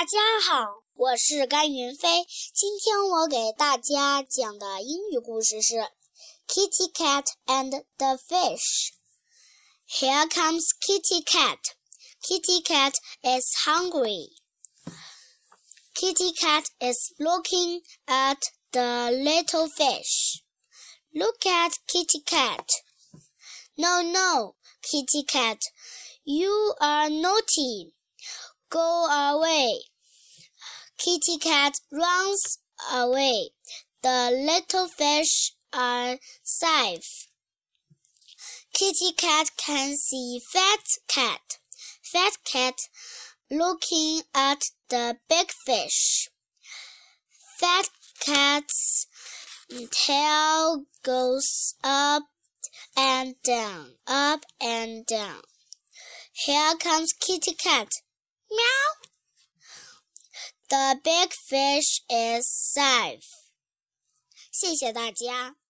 大家好，我是甘云飞。今天我给大家讲的英语故事是 Kitty Cat and the Fish. Here comes Kitty Cat. Kitty Cat is hungry. Kitty Cat is looking at the little fish. Look at Kitty Cat. No, Kitty Cat, you are naughty.Go away. Kitty Cat runs away. The little fish are safe. Kitty Cat can see Fat Cat. Fat Cat looking at the big fish. Fat Cat's tail goes up and down, up and down. Here comes Kitty Cat.Meow. The big fish is safe. 谢谢大家。